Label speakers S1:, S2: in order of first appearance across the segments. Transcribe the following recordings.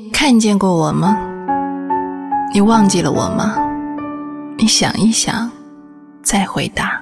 S1: 看见过我吗？你忘记了我吗？你想一想，再回答。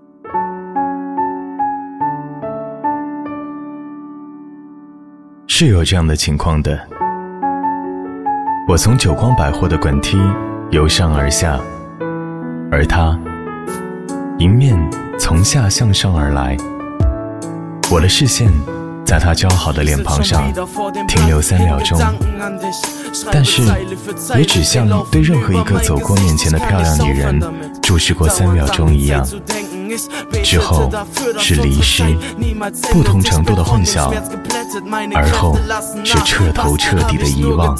S2: 是有这样的情况的。我从久光百货的滚梯由上而下，而他迎面从下向上而来，我的视线在他姣好的脸庞上停留3秒钟，但是也只像对任何一个走过面前的漂亮女人注视过3秒钟一样，之后是离失，不同程度的混淆，而后是彻头彻底的遗忘。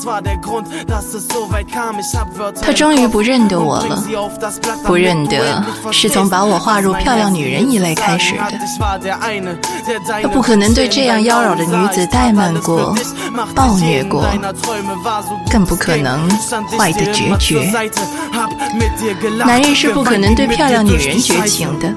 S1: 他终于不认得我了，不认得是从把我划入漂亮女人一类开始的。他不可能对这样妖娆的女子怠慢过、暴虐过，更不可能坏得决绝。男人是不可能对漂亮女人绝情的，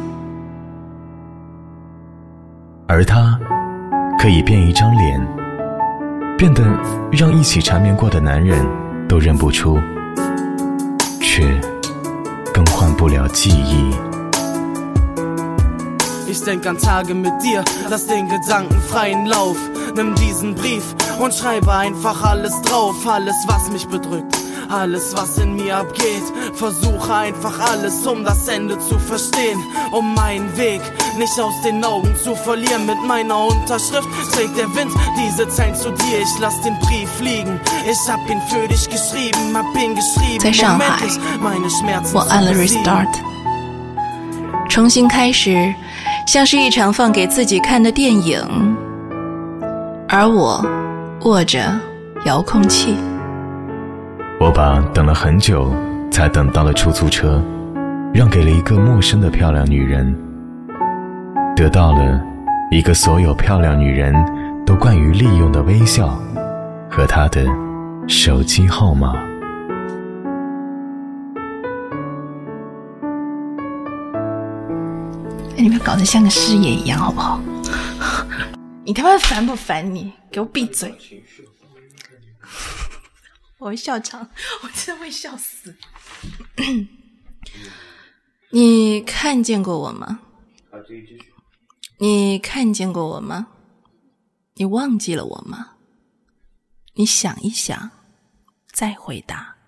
S2: 而他可以变一张脸，变得让一起缠绵过的男人都认不出，却更换不了记忆。
S3: Ich denk an Tage mit dir, lass den Gedanken freien Lauf. Nimm diesen Brief und schreibe einfach alles drauf. Alles, was mich bedrückt, alles, was in mir abgeht. Versuche einfach alles, das Ende zu verstehen. Meinen Weg nicht aus den Augen zu verlieren. Mit meiner Unterschrift trägt der Wind diese Zeilen zu dir. Ich lass den Brief liegen, ich hab ihn für dich geschrieben. Hab ihn geschrieben,
S1: 在上海，
S3: meine Schmerzen
S1: 我按了 Restart， 重新开始，像是一场放给自己看的电影，而我握着遥控器。
S2: 我把等了很久才等到的出租车让给了一个陌生的漂亮女人，得到了一个所有漂亮女人都惯于利用的微笑和她的手机号码。
S1: 你不要搞得像个师爷一样好不好？你他妈烦不烦你？给我闭嘴！我会笑场，我真的会笑死。你看见过我吗？你看见过我吗？你忘记了我吗？你想一想，再回答。